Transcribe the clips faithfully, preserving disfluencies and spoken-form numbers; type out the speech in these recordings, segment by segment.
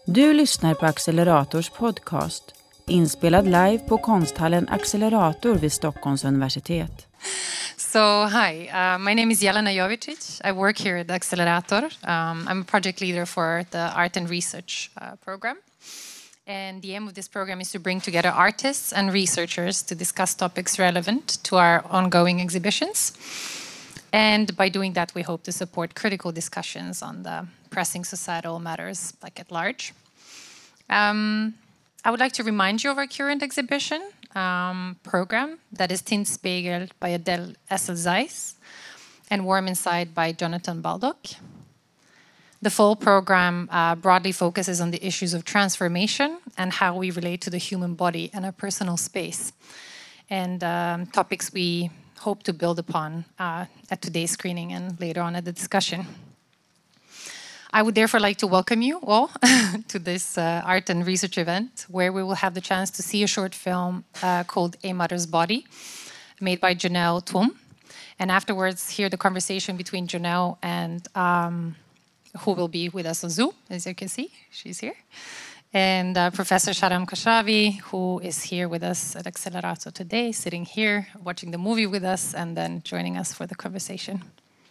Du lyssnar på Accelerators podcast, inspelad live på konsthallen Accelerator vid Stockholms universitet. So, hi, uh, my name is Jelena Jovicic. I work here at Accelerator. Um, I'm a project leader for the Art and Research uh, program. And the aim of this program is to bring together artists and researchers to discuss topics relevant to our ongoing exhibitions. And by doing that, we hope to support critical discussions on the pressing societal matters, like at large. Um, I would like to remind you of our current exhibition um, program, that is Tintspegel by Adele Essel-Zeiss and Warm Inside by Jonathan Baldock. The full program uh, broadly focuses on the issues of transformation and how we relate to the human body and our personal space, and um, topics we hope to build upon uh, at today's screening and later on at the discussion. I would therefore like to welcome you all to this uh, art and research event, where we will have the chance to see a short film uh, called A Mother's Body, made by Janelle Twom, and afterwards hear the conversation between Janelle and um, who will be with us on Zoom, as you can see, she's here, and uh, Professor Sharam Khosravi, who is here with us at Accelerator today, sitting here, watching the movie with us, and then joining us for the conversation.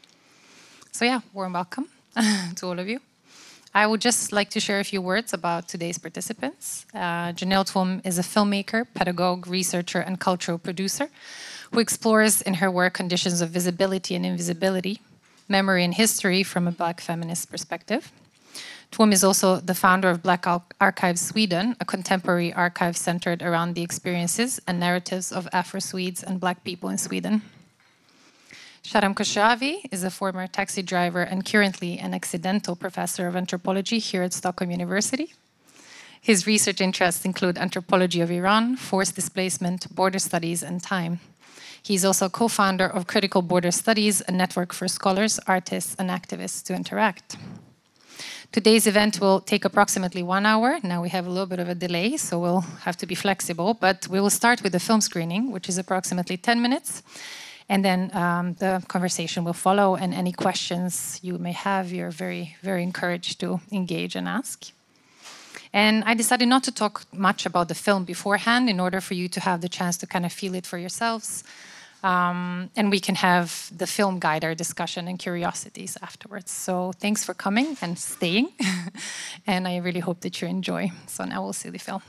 So yeah, warm welcome to all of you. I would just like to share a few words about today's participants. Uh, Janelle Twom is a filmmaker, pedagogue, researcher, and cultural producer who explores in her work conditions of visibility and invisibility, memory and history from a Black feminist perspective. Twom is also the founder of Black Archives Sweden, a contemporary archive centered around the experiences and narratives of Afro-Swedes and Black people in Sweden. Sharam Khosravi is a former taxi driver and currently an accidental professor of anthropology here at Stockholm University. His research interests include anthropology of Iran, forced displacement, border studies, and time. He's also co-founder of Critical Border Studies, a network for scholars, artists, and activists to interact. Today's event will take approximately one hour. Now we have a little bit of a delay, so we'll have to be flexible. But we will start with the film screening, which is approximately ten minutes. And then um, the conversation will follow. And any questions you may have, you're very, very encouraged to engage and ask. And I decided not to talk much about the film beforehand in order for you to have the chance to kind of feel it for yourselves. Um, and we can have the film guider discussion and curiosities afterwards. So thanks for coming and staying. And I really hope that you enjoy. So now we'll see the film.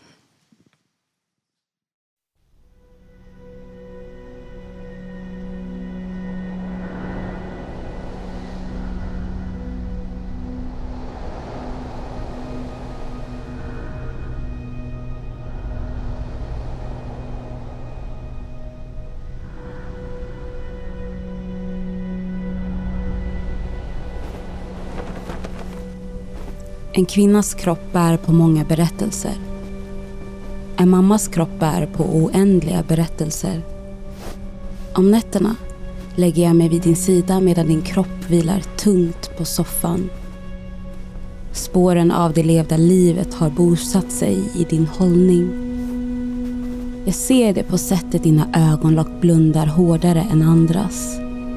En kvinnas kropp bär på många berättelser. En mammas kropp bär på oändliga berättelser. Om nätterna lägger jag mig vid din sida medan din kropp vilar tungt på soffan. Spåren av det levda livet har bosatt sig i din hållning. Jag ser det på sättet dina ögonlock blundar hårdare än andras.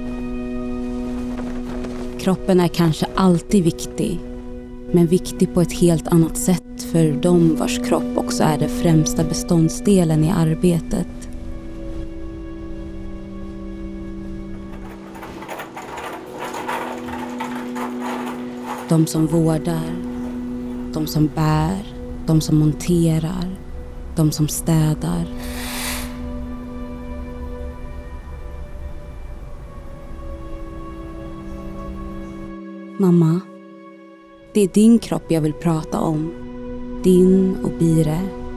Kroppen är kanske alltid viktig, men viktig på ett helt annat sätt för de vars kropp också är den främsta beståndsdelen i arbetet. De som vårdar, de som bär, de som monterar, de som städar. Mamma, det är din kropp jag vill prata om. Din och Bire,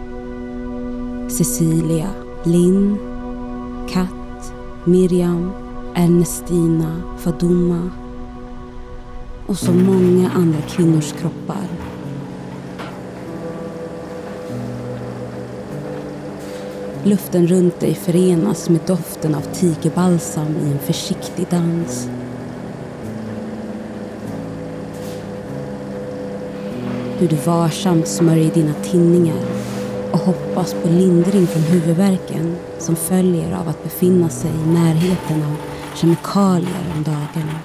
Cecilia, Linn, Kat, Miriam, Ernestina, Faduma och så många andra kvinnors kroppar. Luften runt dig förenas med doften av tigerbalsam i en försiktig dans. Hur du varsamt smörjer dina tinningar och hoppas på lindring från huvudvärken som följer av att befinna sig i närheten av kemikalier om dagarna.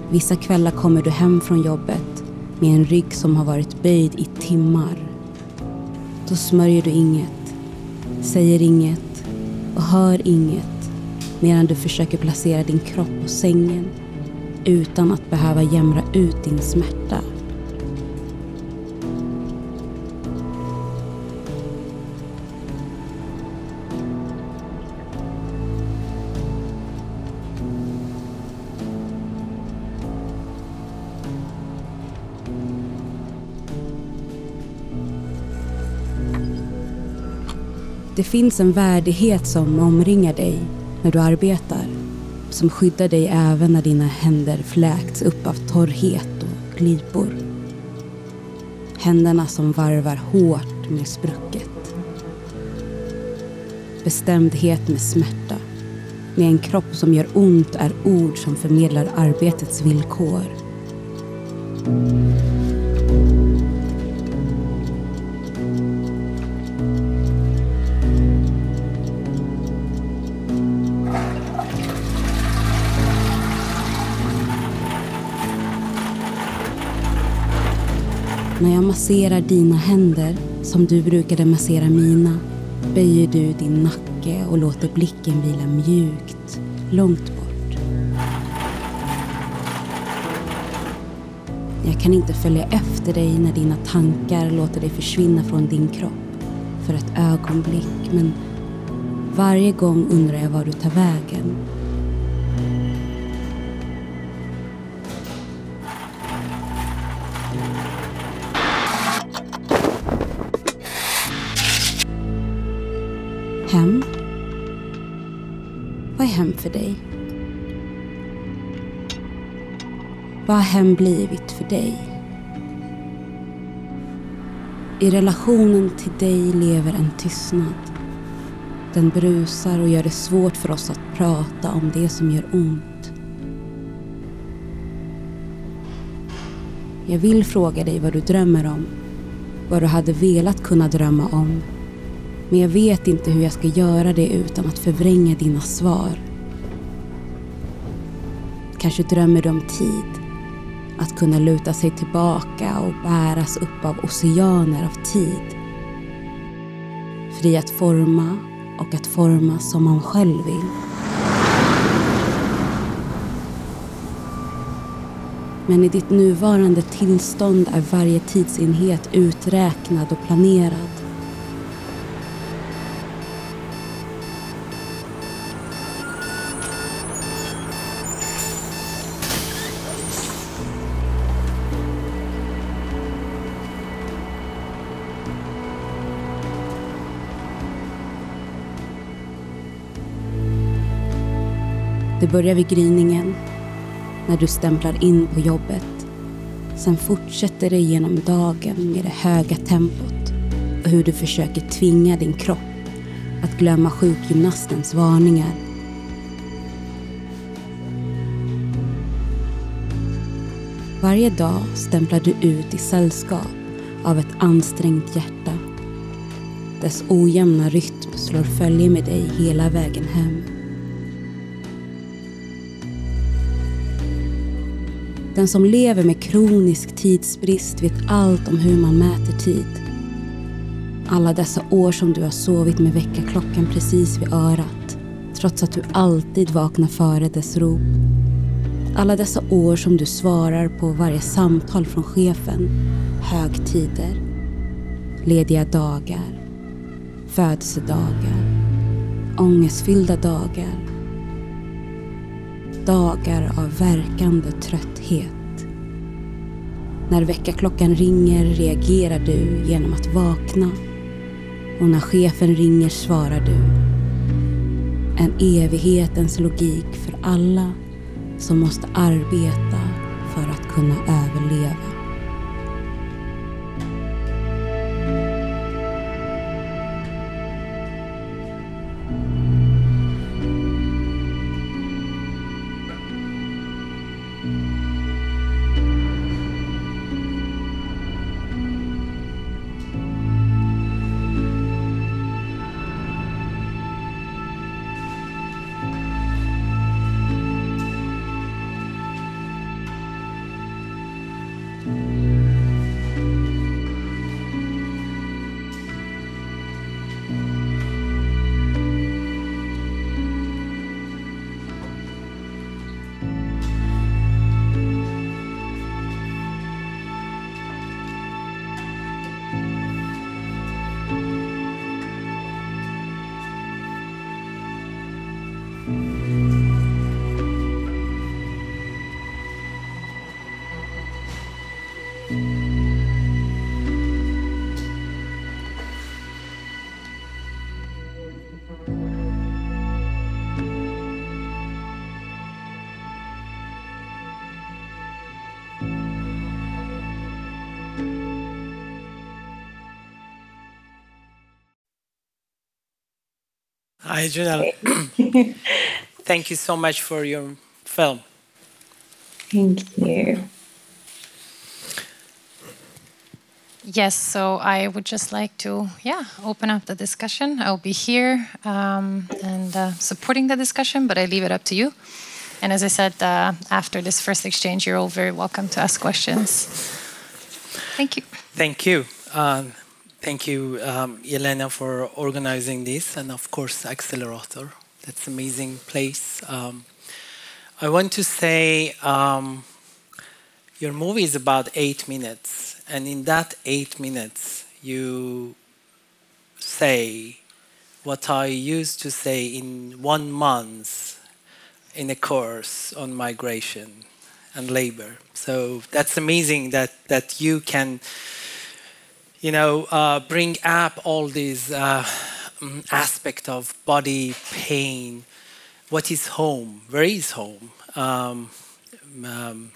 Vissa kvällar kommer du hem från jobbet med en rygg som har varit böjd i timmar. Då smörjer du inget, säger inget och hör inget medan du försöker placera din kropp på sängen utan att behöva jämra ut din smärta. Det finns en värdighet som omringar dig när du arbetar, som skyddar dig även när dina händer fläkts upp av torrhet och glipor. Händerna som varvar hårt med sprucket. Bestämdhet med smärta. Med en kropp som gör ont är ord som förmedlar arbetets villkor. När jag masserar dina händer som du brukade massera mina böjer du din nacke och låter blicken vila mjukt, långt bort. Jag kan inte följa efter dig när dina tankar låter dig försvinna från din kropp för ett ögonblick, men varje gång undrar jag var du tar vägen. Hem? Vad är hem för dig? Vad har hem blivit för dig? I relationen till dig lever en tystnad. Den brusar och gör det svårt för oss att prata om det som gör ont. Jag vill fråga dig vad du drömmer om. Vad du hade velat kunna drömma om. Men jag vet inte hur jag ska göra det utan att förvränga dina svar. Kanske drömmer du om tid. Att kunna luta sig tillbaka och bäras upp av oceaner av tid. Fri att forma och att forma som man själv vill. Men i ditt nuvarande tillstånd är varje tidsenhet uträknad och planerad. Det börjar vid gryningen, när du stämplar in på jobbet. Sen fortsätter det genom dagen med det höga tempot och hur du försöker tvinga din kropp att glömma sjukgymnastens varningar. Varje dag stämplar du ut i sällskap av ett ansträngt hjärta. Dess ojämna rytm slår följe med dig hela vägen hem. Den som lever med kronisk tidsbrist vet allt om hur man mäter tid. Alla dessa år som du har sovit med väckarklockan precis vid örat, trots att du alltid vaknar före dess rop. Alla dessa år som du svarar på varje samtal från chefen, högtider, lediga dagar, födelsedagar, ångestfyllda dagar. Dagar av verkande trötthet. När väckarklockan ringer reagerar du genom att vakna. Och när chefen ringer svarar du. En evighetens logik för alla som måste arbeta för att kunna överleva. Hi, Janelle. Thank you so much for your film. Thank you. Yes, so I would just like to, yeah, open up the discussion. I'll be here um, and uh, supporting the discussion, but I leave it up to you. And as I said, uh, after this first exchange, you're all very welcome to ask questions. Thank you. Thank you. Um, thank you, um, Yelena, for organizing this, and of course, Accelerator. That's an amazing place. Um, I want to say um, your movie is about eight minutes, and in that eight minutes, you say what I used to say in one month in a course on migration and labor. So that's amazing that, that you can, you know, uh, bring up all these uh, aspects of body, pain, what is home, where is home, um, um,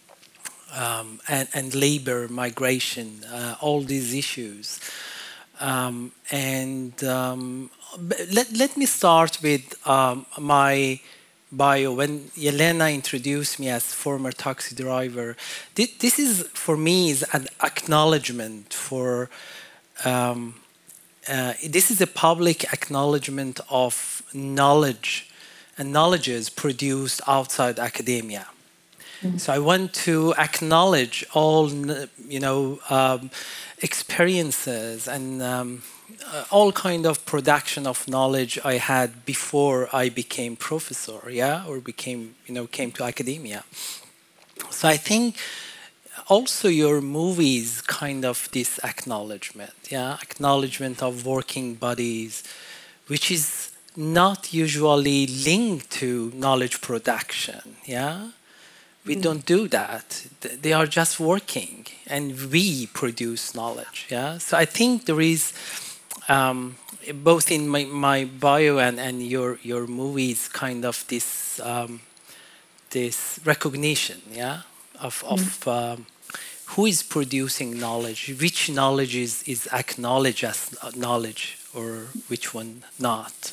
um, and, and labor, migration, uh, all these issues. Um, and um, let, let me start with um, my bio. When Yelena introduced me as former taxi driver, this, this is, for me, is an acknowledgement for, um, uh, this is a public acknowledgement of knowledge and knowledges produced outside academia. Mm-hmm. So I want to acknowledge all, you know, um, experiences and um, uh, all kind of production of knowledge I had before I became professor, yeah, or became, you know, came to academia. So I think also your movies kind of this acknowledgement, yeah, acknowledgement of working bodies, which is not usually linked to knowledge production, yeah. We don't do that. They are just working, and we produce knowledge. Yeah. So I think there is um, both in my, my bio and, and your your movies kind of this um, this recognition, yeah, of of um, who is producing knowledge, which knowledge is is acknowledged as knowledge, or which one not.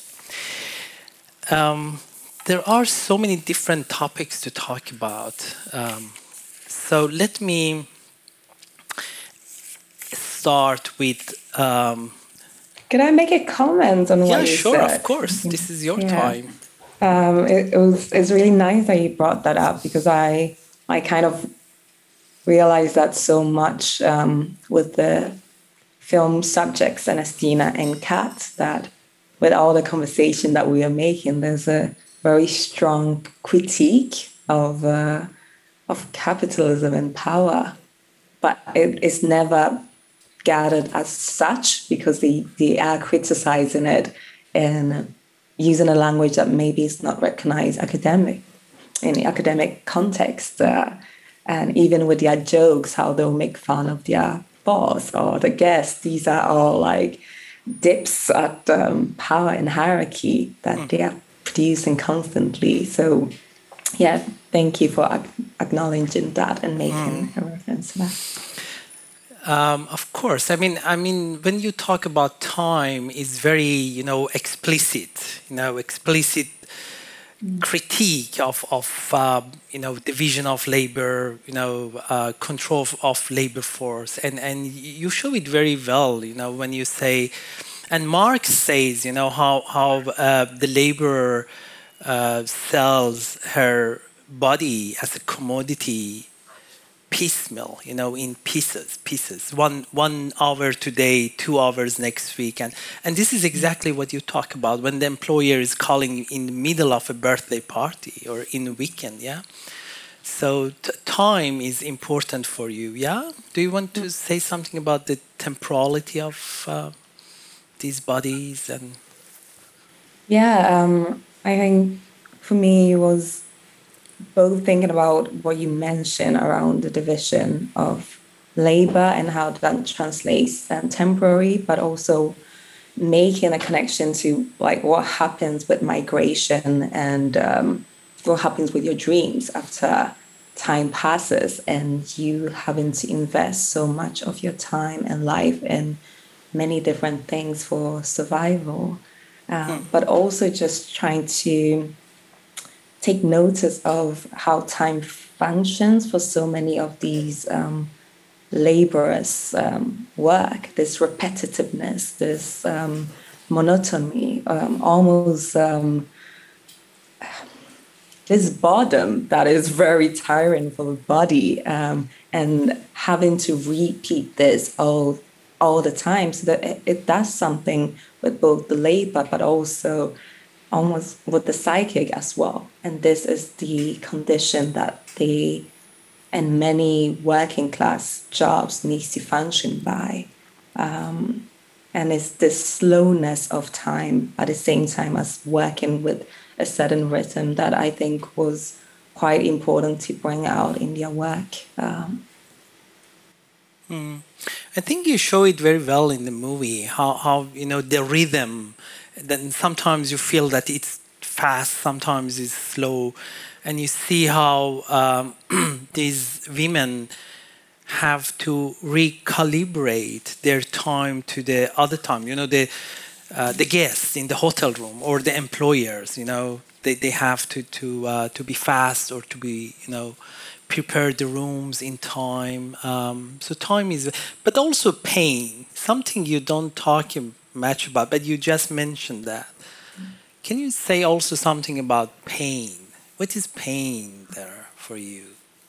Um, There are so many different topics to talk about. Um, so let me start with... Um, Could I make a comment on what yeah, you sure, said? of course. This is your yeah. time. Um, it, it was, it's really nice that you brought that up, because I, I kind of realized that so much um, with the film subjects, Ernestina and Kat, that with all the conversation that we are making, there's a very strong critique of uh, of capitalism and power, but it is never gathered as such, because they, they are criticizing it and using a language that maybe is not recognized academic in the academic context, uh, and even with their jokes, how they'll make fun of their boss or the guests. These are all like dips at um, power and hierarchy that mm. they are producing constantly. So yeah, thank you for acknowledging that and making mm. a reference to that. Um, of course. I mean, I mean, when you talk about time, it's very, you know, explicit, you know, explicit mm. critique of, of uh, you know, division of labor, you know, uh, control of labor force. And, and you show it very well, you know, when you say... And Marx says, you know, how, how uh, the laborer uh, sells her body as a commodity piecemeal, you know, in pieces, pieces. One one hour today, two hours next week. And, and this is exactly what you talk about when the employer is calling in the middle of a birthday party or in a weekend, yeah? So t- time is important for you, yeah? Do you want to say something about the temporality of... Uh, these bodies? And yeah, um, I think for me it was both thinking about what you mentioned around the division of labor and how that translates um, temporary, but also making a connection to like what happens with migration and um, what happens with your dreams after time passes and you having to invest so much of your time and life in many different things for survival, um, but also just trying to take notice of how time functions for so many of these um, laborious um, work, this repetitiveness, this um, monotony, um, almost um, this boredom that is very tiring for the body, um, and having to repeat this all all the time, so that it, it does something with both the labor, but also almost with the psychic as well. And this is the condition that they and many working class jobs needs to function by. Um, and it's this slowness of time at the same time as working with a certain rhythm that I think was quite important to bring out in their work. Um, mm. I think you show it very well in the movie, how, how you know, the rhythm. Then sometimes you feel that it's fast, sometimes it's slow. And you see how um, these women have to recalibrate their time to the other time. You know, the uh, the guests in the hotel room or the employers. You know, they, they have to to uh, to be fast or to be, you know, prepare the rooms in time. Um, so time is, but also pain. Something you don't talk much about, but you just mentioned that. Can you say also something about pain? What is pain there for you?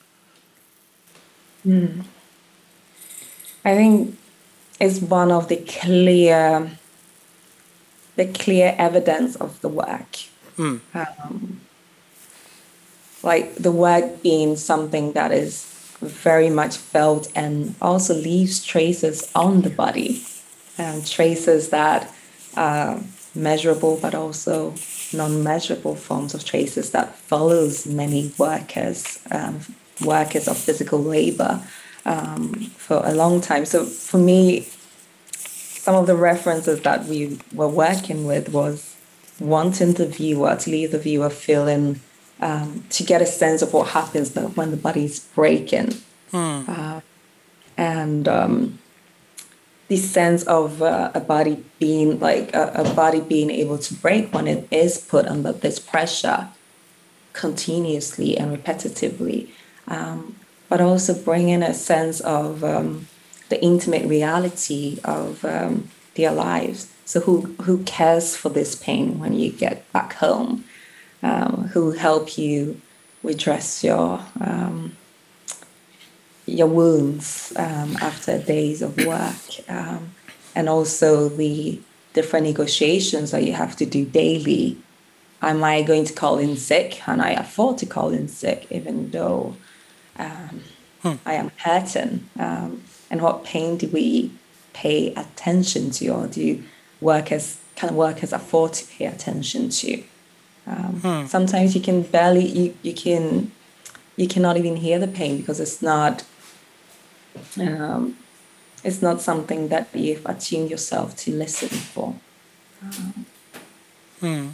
Mm. I think it's one of the clear, the clear evidence of the work. Mm. Um, like the work being something that is very much felt and also leaves traces on the body, and traces that are measurable, but also non-measurable forms of traces that follows many workers, um, workers of physical labor um, for a long time. So for me, some of the references that we were working with was wanting the viewer to leave the viewer feeling, um, to get a sense of what happens when the body's breaking. Hmm. Uh, and um, this sense of uh, a body being like a, a body being able to break when it is put under this pressure continuously and repetitively, um, but also bringing a sense of um, the intimate reality of um, their lives. So who who cares for this pain when you get back home? Um, who help you redress your um, your wounds um, after days of work, um, and also the different negotiations that you have to do daily. Am I going to call in sick? Can I afford to call in sick, even though um, hmm. I am hurting? Um, and what pain do we pay attention to, or do workers can workers afford to pay attention to? Um, hmm. Sometimes you can barely you, you can you cannot even hear the pain because it's not um, it's not something that you've attuned yourself to listen for. Um, hmm.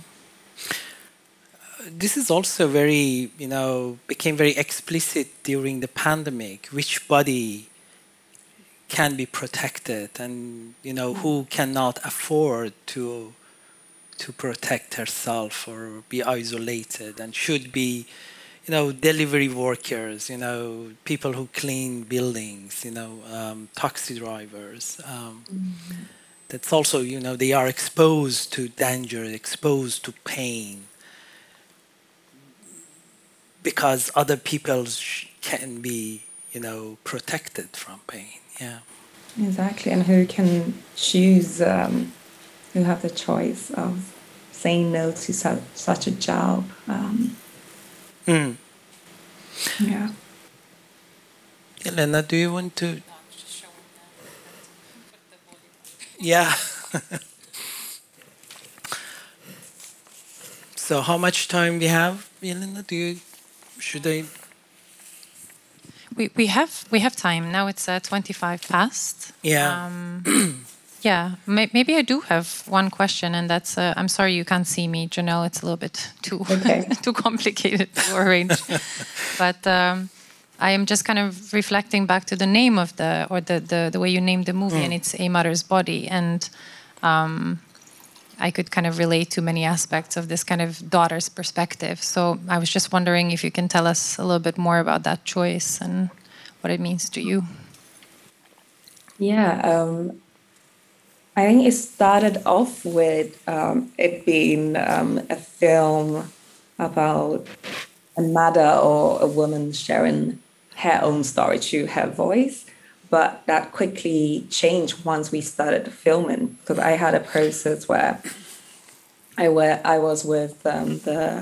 This is also very, you know, became very explicit during the pandemic, which body can be protected and, you know, who cannot afford to to protect herself or be isolated and should be, you know, delivery workers, you know, people who clean buildings, you know, um, taxi drivers. Um, mm-hmm. That's also, you know, they are exposed to danger, exposed to pain, because other people can be, you know, protected from pain. Yeah. Exactly. And who can choose, um, who have the choice of saying no to su- such a job. Um, mm. Yeah. Elena, do you want to? Yeah. So how much time we have, Elena? Do you, should I? we, we have we have time now. It's uh, twenty-five past. Yeah. Um, yeah. May, maybe I do have one question, and that's uh, I'm sorry you can't see me, Janelle. It's a little bit too Okay. too complicated to arrange. But um, I am just kind of reflecting back to the name of the or the the, the way you named the movie, Mm. and it's A Mother's Body, and um, I could kind of relate to many aspects of this kind of daughter's perspective. So I was just wondering if you can tell us a little bit more about that choice and what it means to you. Yeah, um, I think it started off with um, it being um, a film about a mother or a woman sharing her own story through her voice. But that quickly changed once we started filming, because I had a process where I were I was with um, the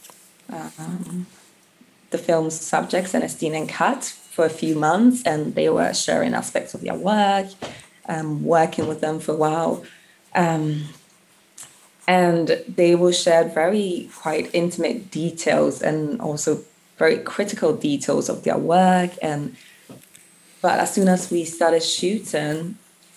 um, the film's subjects, Ernestine and Kat, for a few months, and they were sharing aspects of their work, um, working with them for a while. Um, and they will share very quite intimate details and also very critical details of their work. And but as soon as we started shooting,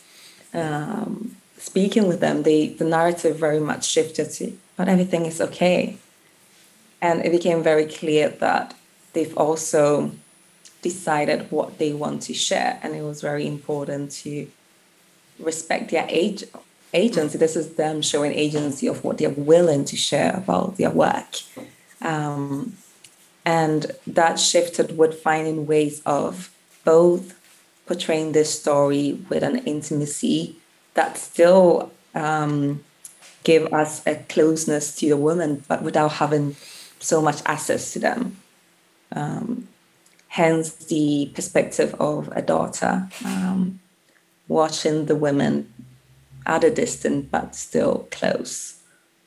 um, speaking with them, they, the narrative very much shifted to, but everything is okay. And it became very clear that they've also decided what they want to share. And it was very important to respect their age, agency. This is them showing agency of what they're willing to share about their work. Um, and that shifted with finding ways of both portraying this story with an intimacy that still um, give us a closeness to the women, but without having so much access to them. Um, hence the perspective of a daughter um, watching the women at a distance, but still close.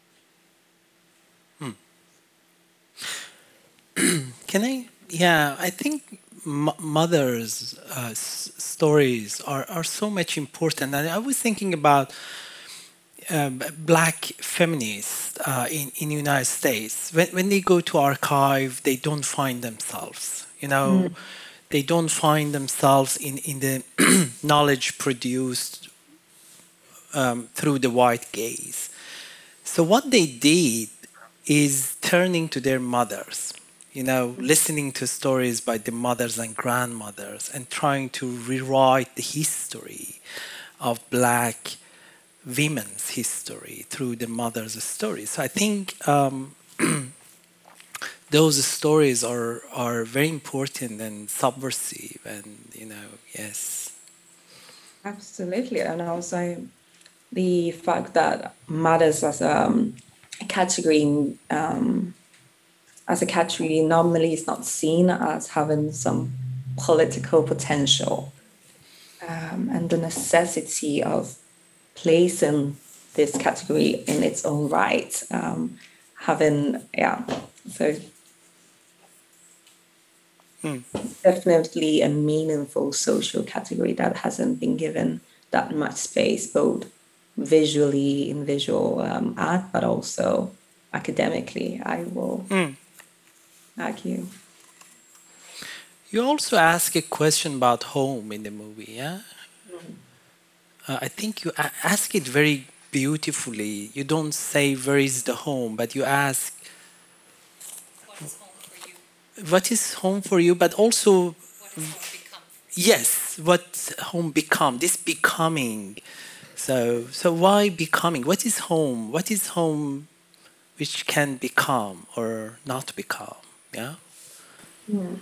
Hmm. Can I? Yeah, I think m- mothers' uh, s- stories are, are so much important. And I was thinking about um, black feminists uh, in in the United States. When when they go to archive, they don't find themselves. You know, mm. they don't find themselves in in the knowledge produced um, through the white gaze. So what they did is turning to their mothers. You know, listening to stories by the mothers and grandmothers and trying to rewrite the history of black women's history through the mothers' stories. So I think um, those stories are are very important and subversive, and you know, yes. Absolutely, and also the fact that mothers as um, a category um, as a category normally is not seen as having some political potential, um, and the necessity of placing this category in its own right, um, having, yeah, so mm. definitely a meaningful social category that hasn't been given that much space, both visually in visual um, art, but also academically, I will mm. argue. You also ask a question about home in the movie, yeah? Mm. Uh, I think you a- ask it very beautifully. You don't say, where is the home, but you ask, what is home for you? What is home for you, but also, what is home become? Yes, what home become, this becoming. So, so why becoming? What is home? What is home which can become or not become? Yeah? Mm.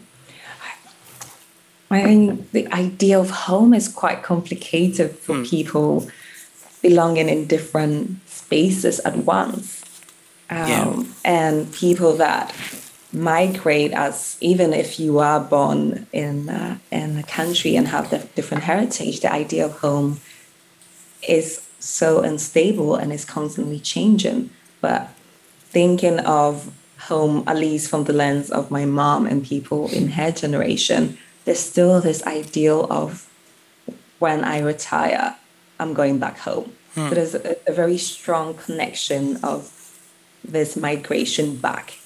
I think the idea of home is quite complicated for mm. people belonging in different spaces at once. Um, yeah. And people that migrate, as even if you are born in, uh, in a country and have the different heritage, the idea of home is so unstable and is constantly changing. But thinking of home, at least from the lens of my mom and people in her generation, there's still this ideal of when I retire, I'm going back home. Hmm. So there's a, a very strong connection of this migration back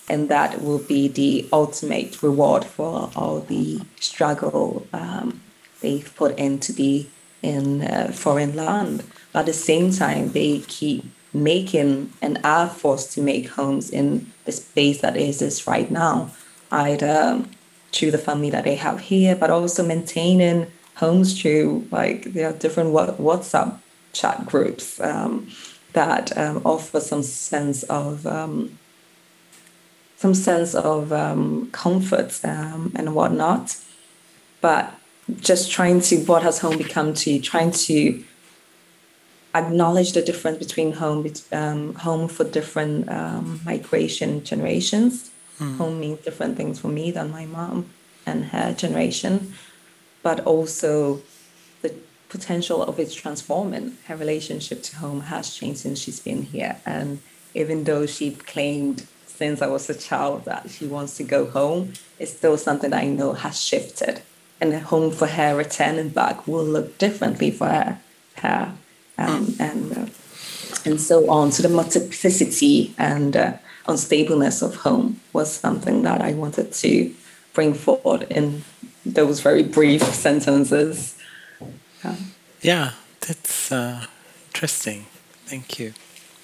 and that will be the ultimate reward for all the struggle um, they've put in to be in a foreign land. But at the same time, they keep making and are forced to make homes in the space that exists right now, either through the family that they have here, but also maintaining homes through, like, there are different WhatsApp chat groups um, that um, offer some sense of um, some sense of um, comfort um, and whatnot. But just trying to, what has home become to, trying to acknowledge the difference between home, um, home for different um, migration generations. Mm. Home means different things for me than my mom and her generation, but also the potential of its transforming. Her relationship to home has changed since she's been here. And even though she claimed since I was a child that she wants to go home, it's still something that I know has shifted. And the home for her returning back will look differently for her. her um, and uh, and so on. So the multiplicity and uh, unstableness of home was something that I wanted to bring forward in those very brief sentences. Um, yeah, that's uh, interesting. Thank you.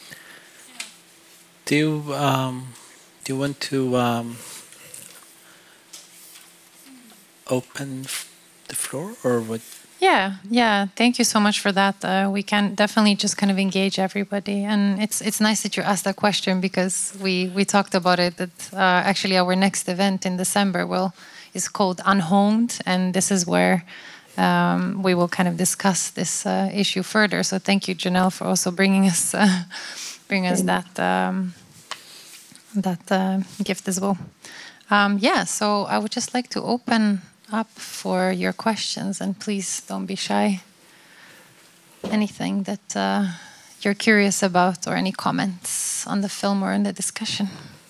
Do you, um, do you want to um, open the floor or what? Yeah, yeah. Thank you so much for that. Uh, we can definitely just kind of engage everybody, and it's it's nice that you asked that question because we we talked about it. That uh, actually our next event in December will is called Unhomed, and this is where um, we will kind of discuss this uh, issue further. So thank you, Janelle, for also bringing us uh, bring us that um, that uh, gift as well. Um, yeah. So I would just like to open up for your questions, and please don't be shy. Anything that uh, you're curious about, or any comments on the film or in the discussion.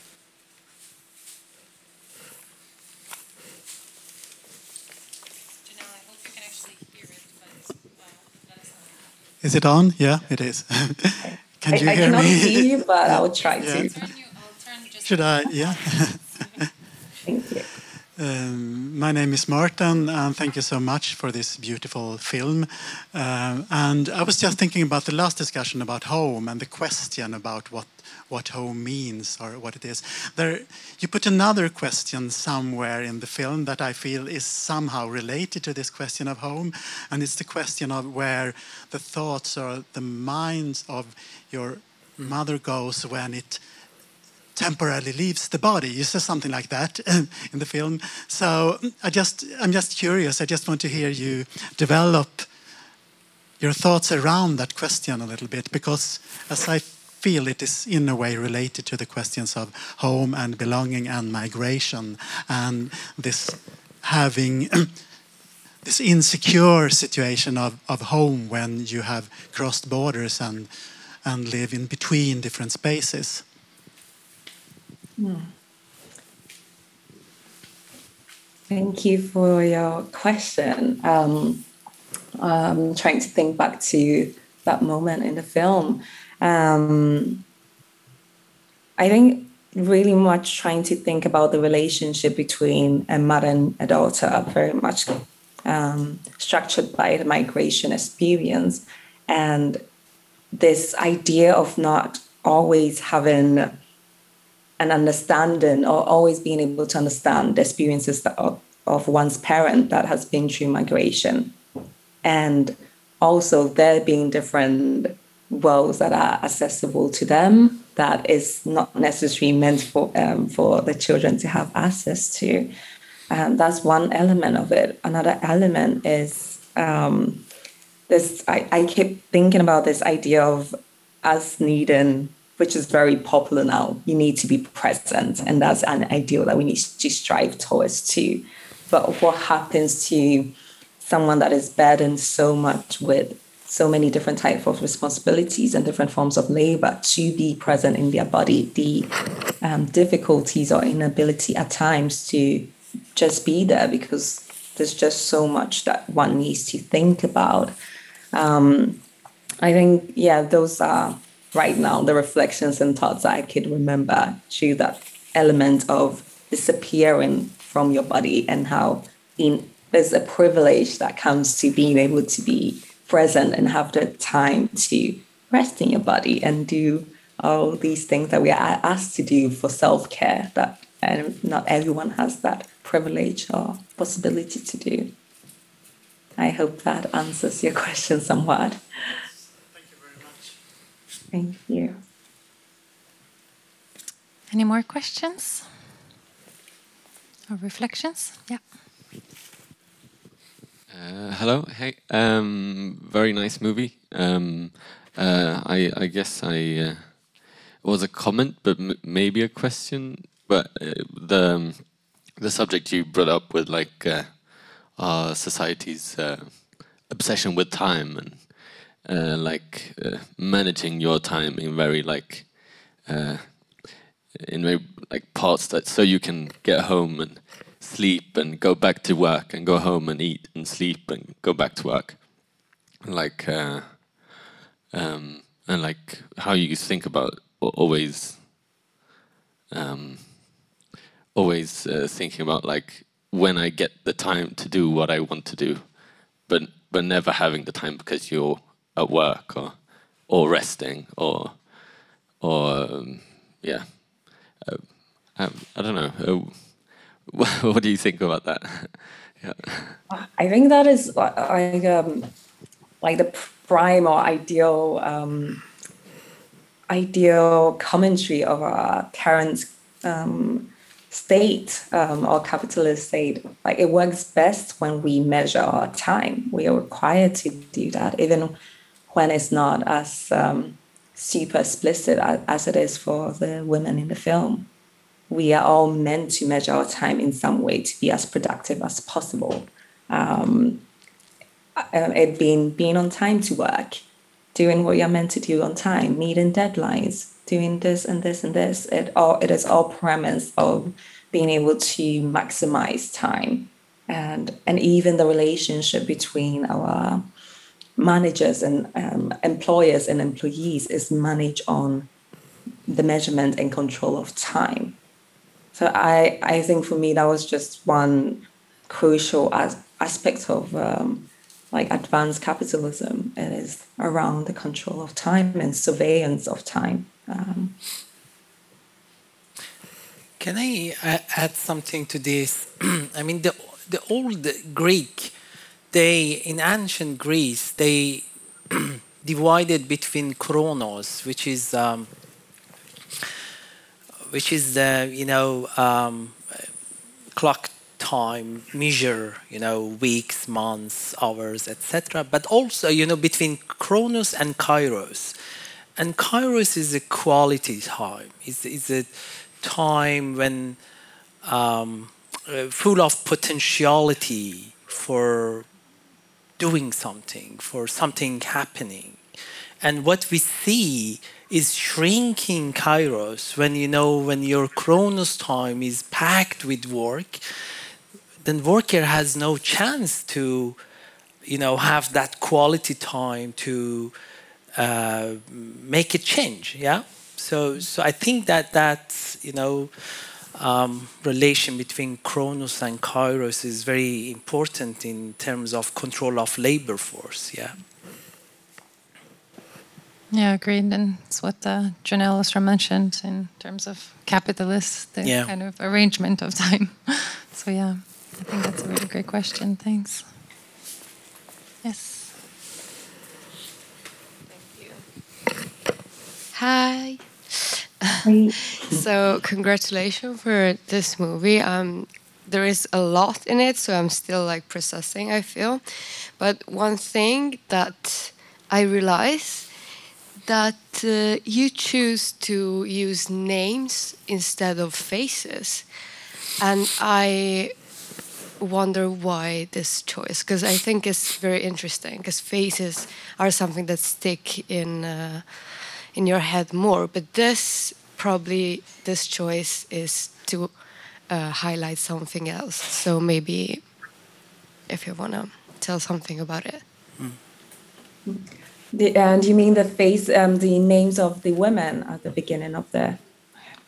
Janelle, I hope you can actually hear it, but uh, let us know. Is it on? Yeah, it is. Can I, you I hear cannot me? see you, but I will try yeah. to. I'll turn you, I'll turn just Should I? Yeah. Thank you. Um, my name is Martin, and thank you so much for this beautiful film. Um, and I was just thinking about the last discussion about home and the question about what what home means or what it is. There, you put another question somewhere in the film that I feel is somehow related to this question of home, and it's the question of where the thoughts or the minds of your mother goes when it temporarily leaves the body. You say something like that in the film. So I just, I'm just curious. I just want to hear you develop your thoughts around that question a little bit, because as I feel it is in a way related to the questions of home and belonging and migration and this having this insecure situation of, of home when you have crossed borders and, and live in between different spaces. Hmm. Thank you for your question. Um, I'm trying to think back to that moment in the film. Um, I think really much trying to think about the relationship between a mother and a daughter, very much um, structured by the migration experience, and this idea of not always having an understanding or always being able to understand the experiences of, of one's parent that has been through migration. And also there being different worlds that are accessible to them that is not necessarily meant for um, for the children to have access to. Um, that's one element of it. Another element is um, this, I, I keep thinking about this idea of us needing, which is very popular now, you need to be present. And that's an ideal that we need to strive towards too. But what happens to someone that is burdened so much with so many different types of responsibilities and different forms of labor to be present in their body, the um, difficulties or inability at times to just be there because there's just so much that one needs to think about. Um, I think, yeah, those are right now the reflections and thoughts I could remember through that element of disappearing from your body, and how in, there's a privilege that comes to being able to be present and have the time to rest in your body and do all these things that we are asked to do for self-care, that and not everyone has that privilege or possibility to do. I hope that answers your question somewhat. Thank you very much. Thank you. Any more questions or reflections? Yeah. Uh, hello. Hey. Um, very nice movie. Um, uh, I, I guess I uh, it was a comment, but m maybe a question. But uh, the um, the subject you brought up with, like uh, our society's uh, obsession with time and uh, like uh, managing your time in very like uh, in very like parts that so you can get home and sleep and go back to work and go home and eat and sleep and go back to work, like uh, um, and like how you think about always um, always uh, thinking about like when I get the time to do what I want to do, but but never having the time because you're at work or or resting or or um, yeah uh, um, I don't know. Uh, what do you think about that? Yeah. I think that is like um, like the prime or ideal um, ideal commentary of our current um, state um, or capitalist state. Like, it works best when we measure our time. We are required to do that, even when it's not as um, super explicit as, as it is for the women in the film. We are all meant to measure our time in some way to be as productive as possible. Um, it being being on time to work, doing what you're meant to do on time, meeting deadlines, doing this and this and this. It all it is all premise of being able to maximize time, and and even the relationship between our managers and um, employers and employees is managed on the measurement and control of time. So I, I think for me, that was just one crucial as, aspect of um, like advanced capitalism. It is around the control of time and surveillance of time. Um, Can I uh, add something to this? I mean, the the old Greek, they in ancient Greece, they divided between chronos, which is um, which is the you know um, clock time, measure you know weeks, months, hours, et cetera. But also you know between chronos and kairos, and kairos is a quality time. It's, it's a time when um, uh, full of potentiality for doing something, for something happening. And what we see is shrinking kairos when, you know, when your chronos time is packed with work, then worker has no chance to, you know, have that quality time to uh, make a change, yeah? So, so I think that that, you know, um, relation between chronos and kairos is very important in terms of control of labor force, yeah? Yeah, agreed. And it's what uh, Janelle Ostra mentioned in terms of capitalist, the yeah. kind of arrangement of time. So yeah, I think that's a really great question. Thanks. Yes. Thank you. Hi. So congratulations for this movie. Um, there is a lot in it, so I'm still like processing, I feel. But one thing that I realize that uh, you choose to use names instead of faces. And I wonder why this choice, because I think it's very interesting, because faces are something that stick in uh, in your head more. But this, probably this choice is to uh, highlight something else. So maybe if you want to tell something about it. Mm. The, and you mean the face, um, the names of the women at the beginning of the...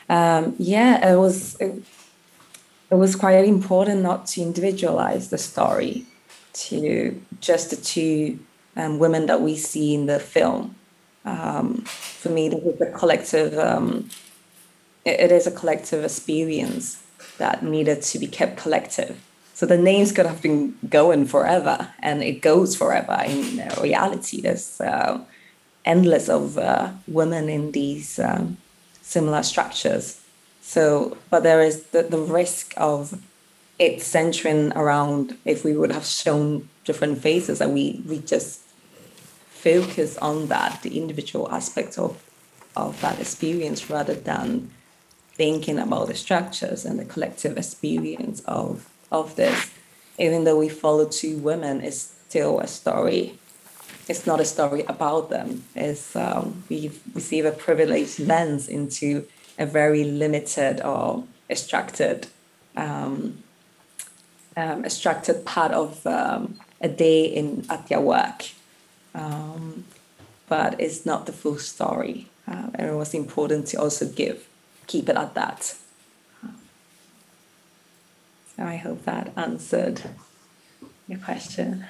Um, yeah, it was it, it was quite important not to individualize the story to just the two um, women that we see in the film. Um, for me, this is a collective. Um, it, it is a collective experience that needed to be kept collective. So the names could have been going forever, and it goes forever. In uh, reality, there's uh, endless of uh, women in these um, similar structures. So, but there is the, the risk of it centering around, if we would have shown different faces, and we, we just focus on that, the individual aspects of, of that experience, rather than thinking about the structures and the collective experience of, of this. Even though we follow two women, it's still a story. It's not a story about them. It's, um, we receive a privileged lens into a very limited or extracted, um, um, extracted part of um, a day in at their work. Um, but it's not the full story. Uh, and it was important to also give, keep it at that. So I hope that answered your question.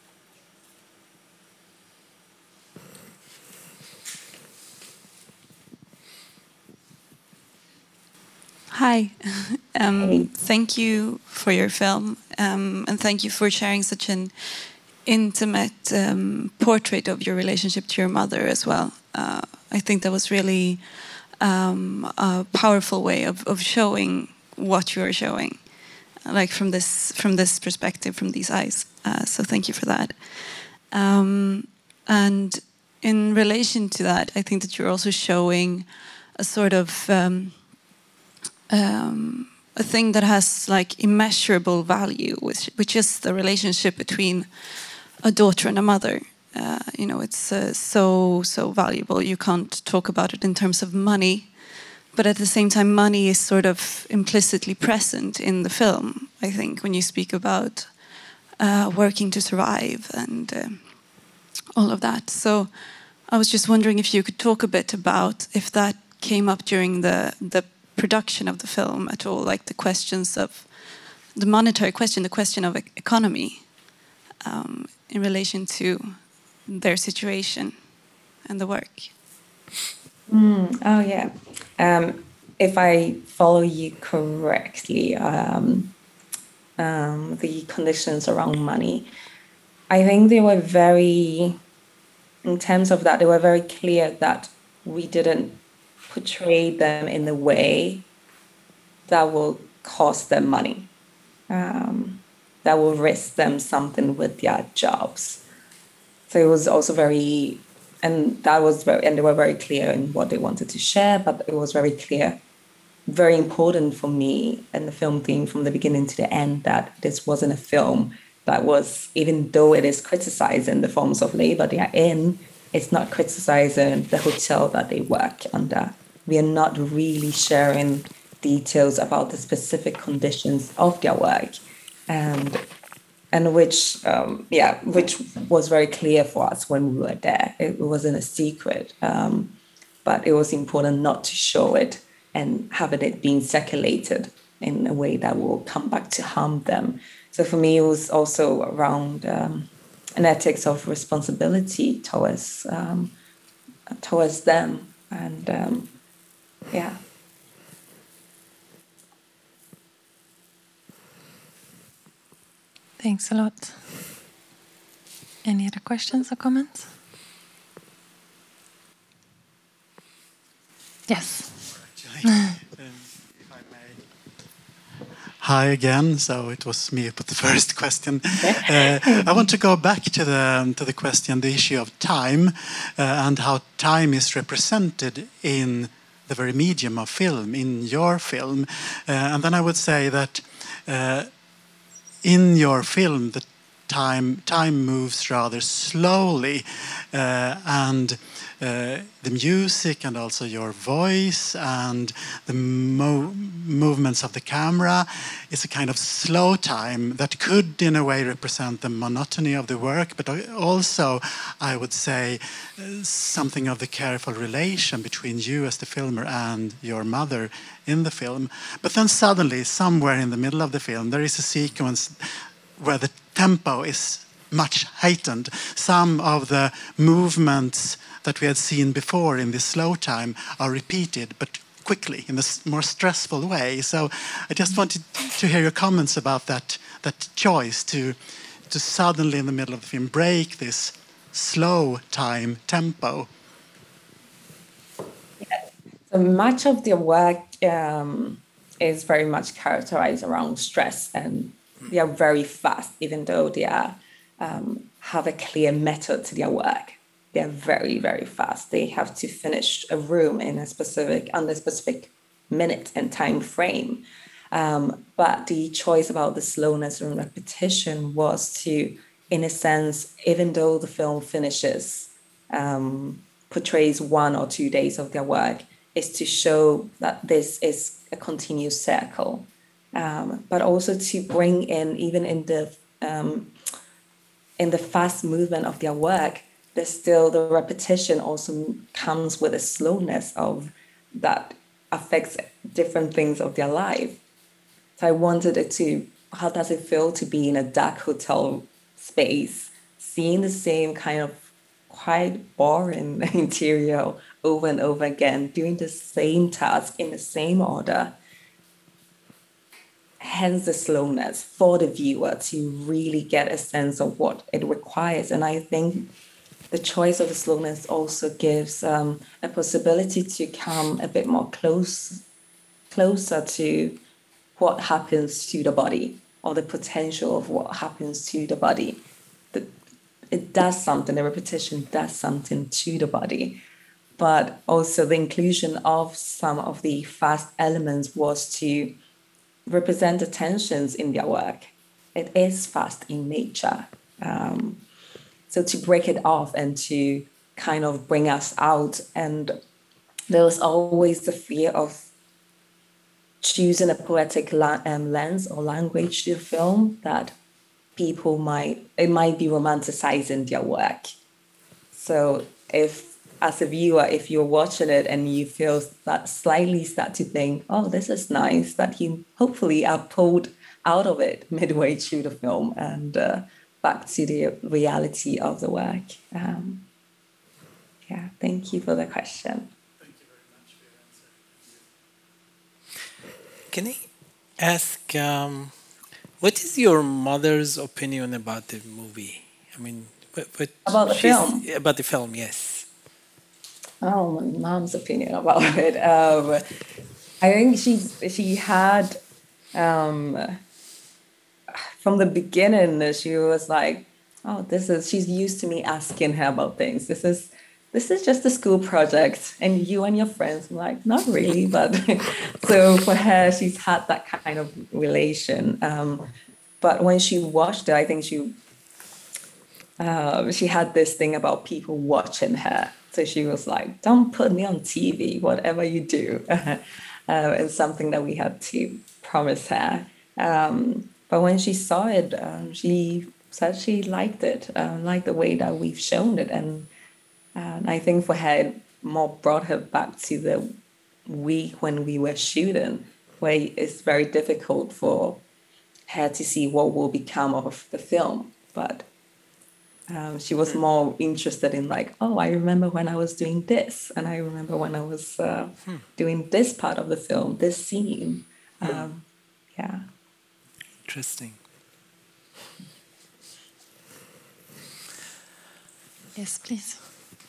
Hi, um, Hey. Thank you for your film, um, and thank you for sharing such an intimate um, portrait of your relationship to your mother as well. Uh, I think that was really um, a powerful way of, of showing what you are showing, like from this from this perspective, from these eyes. Uh, so thank you for that. Um, and in relation to that, I think that you're also showing a sort of um, Um, a thing that has like immeasurable value, which, which is the relationship between a daughter and a mother. Uh, you know, it's uh, so, so valuable. You can't talk about it in terms of money, but at the same time, money is sort of implicitly present in the film, I think, when you speak about uh, working to survive and uh, all of that. So I was just wondering if you could talk a bit about if that came up during the the production of the film at all, like the questions of the monetary question, the question of e- economy um, in relation to their situation and the work. Mm, oh, yeah. Um, if I follow you correctly, um, um, the conditions around money, I think they were very, in terms of that, they were very clear that we didn't portray them in a way that will cost them money, um, that will risk them something with their jobs. So it was also very, and that was very, and they were very clear in what they wanted to share, but it was very clear, very important for me and the film theme from the beginning to the end, that this wasn't a film that was, even though it is criticizing the forms of labor they are in, it's not criticizing the hotel that they work under. We are not really sharing details about the specific conditions of their work, and and which um, yeah, which was very clear for us when we were there. It wasn't a secret, um, but it was important not to show it and having it being circulated in a way that will come back to harm them. So for me, it was also around um, an ethics of responsibility towards um, towards them, and um, yeah. Thanks a lot. Any other questions or comments? Yes. Hi again. So it was me who put the first question. Uh, I want to go back to the to the question, the issue of time, uh, and how time is represented in the very medium of film, in your film. Uh, and then I would say that uh, in your film, the time time moves rather slowly, uh, and uh, the music and also your voice and the mo movements of the camera is a kind of slow time that could in a way represent the monotony of the work, but also I would say uh, something of the careful relation between you as the filmer and your mother in the film. But then suddenly, somewhere in the middle of the film, there is a sequence where the tempo is much heightened. Some of the movements that we had seen before in this slow time are repeated, but quickly, in a more stressful way. So I just wanted to hear your comments about that, that choice to, to suddenly, in the middle of the film, break this slow time tempo. Yeah. So much of the work um, is very much characterized around stress, and they are very fast, even though they are, um, have a clear method to their work. They are very, very fast. They have to finish a room in a specific, under a specific minute and time frame. Um, but the choice about the slowness and repetition was to, in a sense, even though the film finishes, um, portrays one or two days of their work, is to show that this is a continuous circle. Um, but also to bring in, even in the um, in the fast movement of their work, there's still the repetition also comes with a slowness of that affects different things of their life. So I wanted it to, how does it feel to be in a dark hotel space, seeing the same kind of quite boring interior over and over again, doing the same task in the same order. Hence the slowness for the viewer to really get a sense of what it requires. And I think the choice of the slowness also gives um, a possibility to come a bit more close, closer to what happens to the body, or the potential of what happens to the body. The, it does something, the repetition does something to the body. But also the inclusion of some of the fast elements was to represent the tensions in their work. It is fast in nature. Um, so to break it off and to kind of bring us out. And there was always the fear of choosing a poetic la- um, lens or language to the film that people might, it might be romanticizing their work. So if, as a viewer, if you're watching it and you feel that slightly start to think, oh, this is nice, that you hopefully are pulled out of it midway through the film and uh, back to the reality of the work. Um, yeah, thank you for the question. Thank you very much for your answer. Can I ask, um, what is your mother's opinion about the movie? I mean, what, what about the film? About the film, yes. Oh, my mom's opinion about it. Um, I think she she had, um, from the beginning, she was like, oh, this is, she's used to me asking her about things. This is, this is just a school project and you and your friends. I'm like, not really, but so for her, she's had that kind of relation. Um, but when she watched it, I think she, uh, she had this thing about people watching her. So she was like, don't put me on T V, whatever you do. uh, it's something that we had to promise her. Um, but when she saw it, um, she said she liked it, uh, liked the way that we've shown it. And, uh, and I think for her, it more brought her back to the week when we were shooting, where it's very difficult for her to see what will become of the film. But Um, she was more interested in like, oh, I remember when I was doing this. And I remember when I was uh, hmm. doing this part of the film, this scene. Um, yeah. Interesting. Yes, please.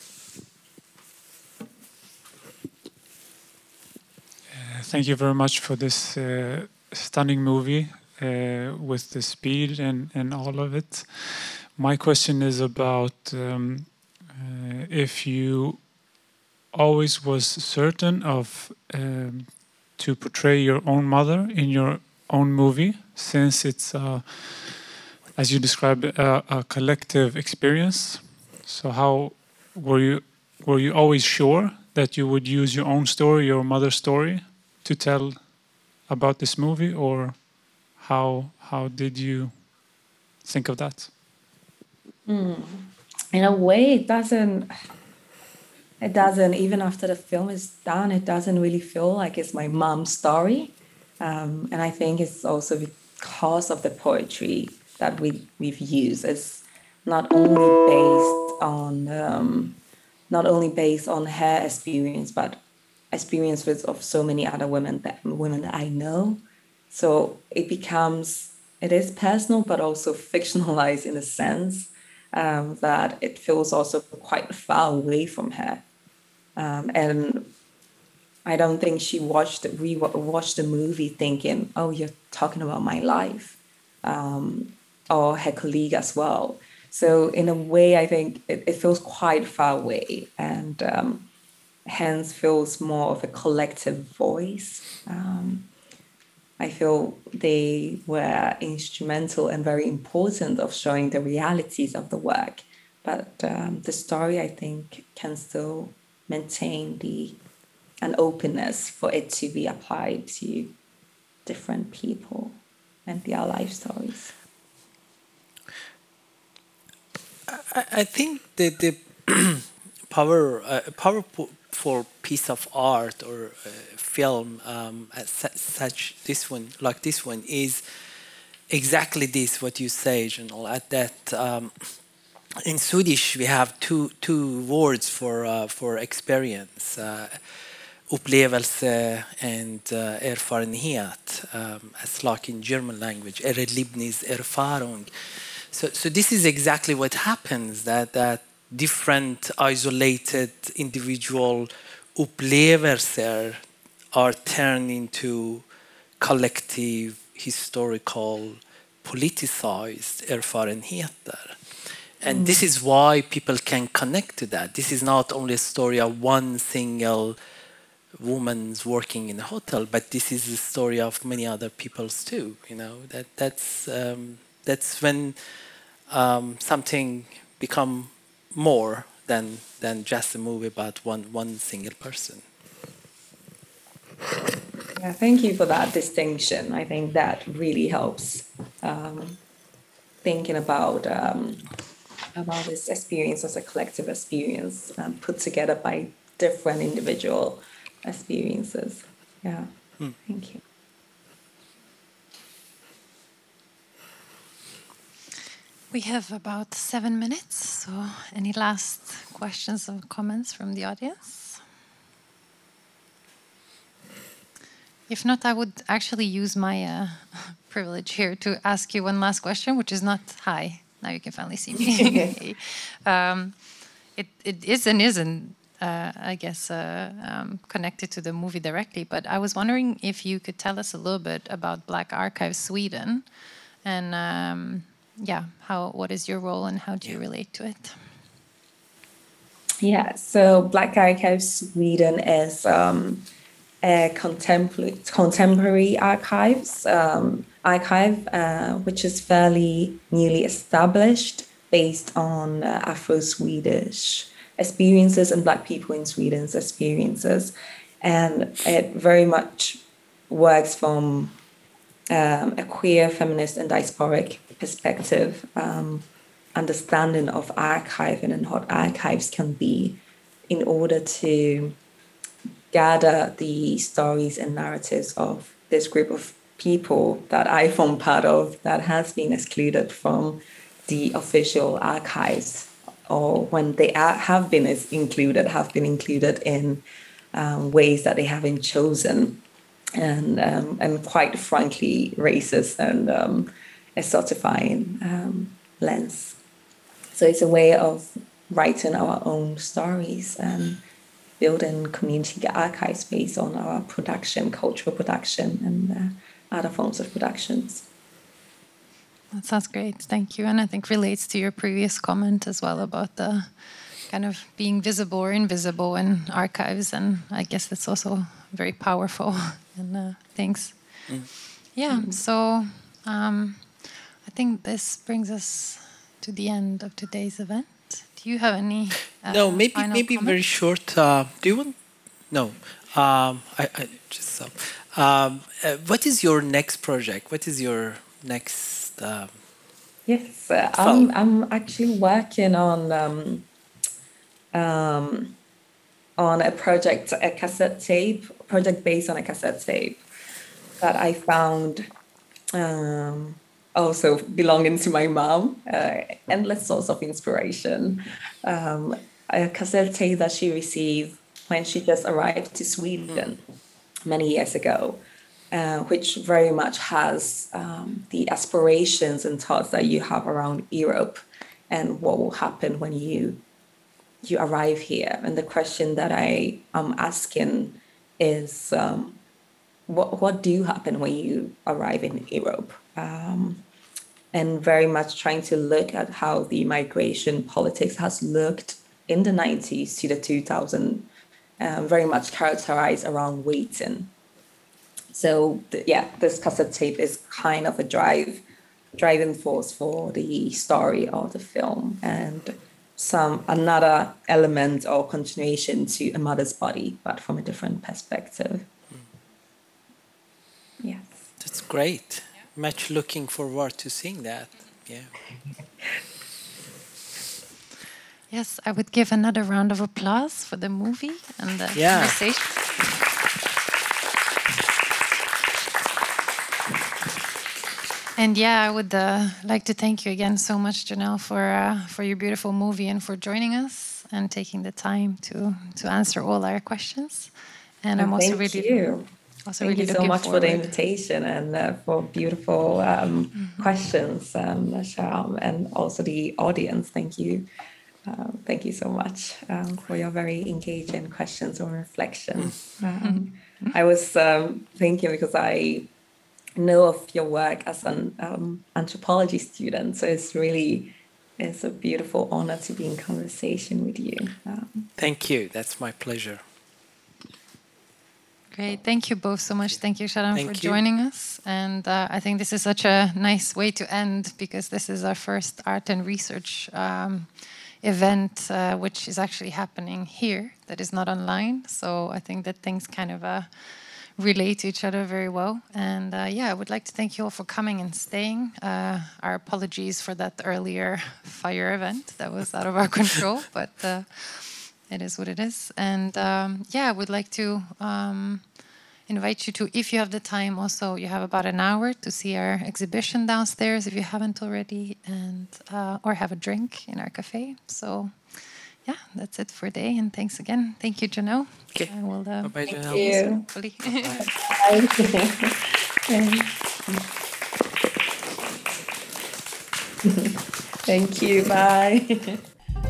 Uh, thank you very much for this uh, stunning movie uh, with the speed and, and all of it. My question is about um, uh, if you always was certain of um, to portray your own mother in your own movie, since it's a as you described, a, a collective experience. So how were you were you always sure that you would use your own story, your mother's story, to tell about this movie, or how how did you think of that? Mm. In a way, it doesn't. It doesn't. Even after the film is done, it doesn't really feel like it's my mom's story, um, and I think it's also because of the poetry that we we've used. It's not only based on um, not only based on her experience, but experiences of so many other women that women that I know. So it becomes it is personal, but also fictionalized in a sense um, that it feels also quite far away from her. Um, and I don't think she watched re watched the movie thinking, "Oh, you're talking about my life," um, or her colleague as well. So in a way, I think it, it feels quite far away, and um, hence feels more of a collective voice. Um, I feel they were instrumental and very important of showing the realities of the work, but um, the story, I think, can still maintain the an openness for it to be applied to different people and their life stories. I, I think that the power, uh, powerful piece of art or uh, film, um, as such this one, like this one, is exactly this what you say, Janelle. At that, um, in Swedish we have two two words for uh, for experience. Uh, upplevelse and uh, erfarenhet, um, as like in German language, Erlebniserfahrung. So, so this is exactly what happens, that, that different isolated individual upplevelser are turned into collective, historical, politicized erfarenheter. And mm. this is why people can connect to that. This is not only a story of one single woman's working in a hotel, but this is the story of many other people's too. You know, that that's um, that's when um, something become more than than just a movie about one one single person. Yeah, thank you for that distinction. I think that really helps um, thinking about um, about this experience as a collective experience um, put together by different individual experiences. Yeah, mm. Thank you. We have about seven minutes, so any last questions or comments from the audience? If not, I would actually use my uh, privilege here to ask you one last question, which is not, hi, now you can finally see me. um, it, it is and isn't Uh, I guess, uh, um, connected to the movie directly. But I was wondering if you could tell us a little bit about Black Archives Sweden, and um, yeah, how what is your role and how do you relate to it? Yeah, so Black Archives Sweden is um, a contemporary contemporary archives um, archive, uh, which is fairly newly established, based on uh, Afro-Swedish experiences and Black people in Sweden's experiences. And it very much works from um, a queer, feminist and diasporic perspective, um, understanding of archiving and what archives can be in order to gather the stories and narratives of this group of people that I form part of that has been excluded from the official archives, or when they are, have been included, have been included in um, ways that they haven't chosen, and um, and quite frankly racist and um, exotifying um, lens. So it's a way of writing our own stories and building community archives based on our production, cultural production, and uh, other forms of productions. That sounds great. Thank you. And I think relates to your previous comment as well about the kind of being visible or invisible in archives. And I guess that's also very powerful and uh, things. Mm. Yeah. Mm. So um, I think this brings us to the end of today's event. Do you have any? Uh, no, maybe final maybe comments? very short. Uh, do you want? No. Um, I, I just so. Um, uh, what is your next project? What is your next? Um, yes, uh, I'm I'm actually working on um, um, on a project, a cassette tape project based on a cassette tape that I found. Um, also belonging to my mom, uh, endless source of inspiration. Um, a cassette tape that she received when she just arrived to Sweden many years ago, uh, which very much has um, the aspirations and thoughts that you have around Europe and what will happen when you you arrive here. And the question that I am asking is, um, what what do happen when you arrive in Europe? Um, and very much trying to look at how the migration politics has looked in the nineties to the two thousands, um, very much characterized around waiting. So th- yeah, this cassette tape is kind of a drive, driving force for the story of the film, and some another element or continuation to A Mother's Body, but from a different perspective. Yes. That's great. Much looking forward to seeing that. Yeah. Yes, I would give another round of applause for the movie and the Yeah. conversation. And yeah, I would uh, like to thank you again so much, Janelle, for uh, for your beautiful movie and for joining us and taking the time to to answer all our questions. And I'm also thank really you. also Thank really you so looking much for the forward. invitation and uh, for beautiful um, questions, um, Sham, and also the audience. Thank you. Uh, thank you so much um, for your very engaging questions or reflections. Um, I was um, thinking because I know of your work as an um, anthropology student, so it's really it's a beautiful honor to be in conversation with you. Um, Thank you. That's my pleasure. Great. Thank you both so much. Thank you, Sharon, Thank for you. joining us. And uh, I think this is such a nice way to end, because this is our first art and research um, event, uh, which is actually happening here, that is not online. So I think that things kind of uh, relate to each other very well. And uh, yeah, I would like to thank you all for coming and staying. Uh, our apologies for that earlier fire event that was out of our control, but uh, it is what it is. And um, yeah, I would like to um, invite you to, if you have the time also, you have about an hour to see our exhibition downstairs if you haven't already, and uh, or have a drink in our cafe. So yeah, that's it for today. And thanks again. Thank you, Janelle. Okay. I will, uh, Bye-bye, Thank Janelle. you. hopefully. Thank you. Bye.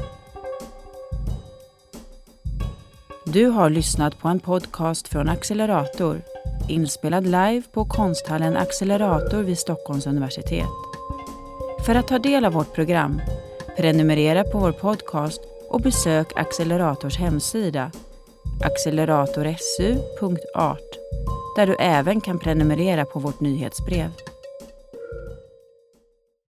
Du har lyssnat på en podcast från Accelerator, inspelad live på konsthallen Accelerator vid Stockholms universitet. För att ta del av vårt program, prenumerera på vår podcast och besök Accelerators hemsida acceleratorsu punkt art, där du även kan prenumerera på vårt nyhetsbrev.